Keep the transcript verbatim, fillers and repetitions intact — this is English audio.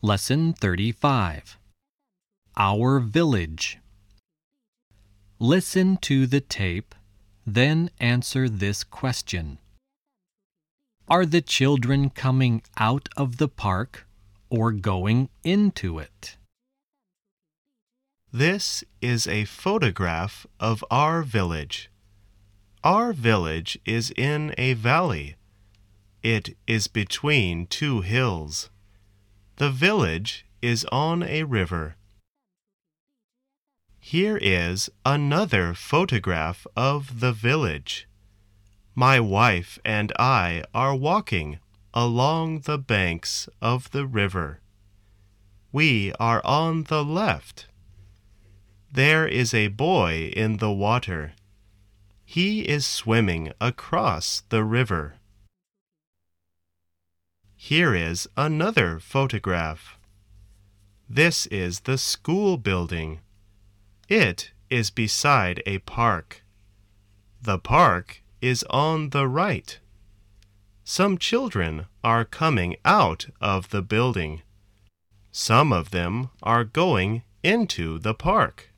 Lesson thirty-five. Our Village. Listen to the tape, then answer this question. Are the children coming out of the park or going into it? This is a photograph of our village. Our village is in a valley. It is between two hills. The village is on a river. Here is another photograph of the village. My wife and I are walking along the banks of the river. We are on the left. There is a boy in the water. He is swimming across the river. Here is another photograph. This is the school building. It is beside a park. The park is on the right. Some children are coming out of the building. Some of them are going into the park.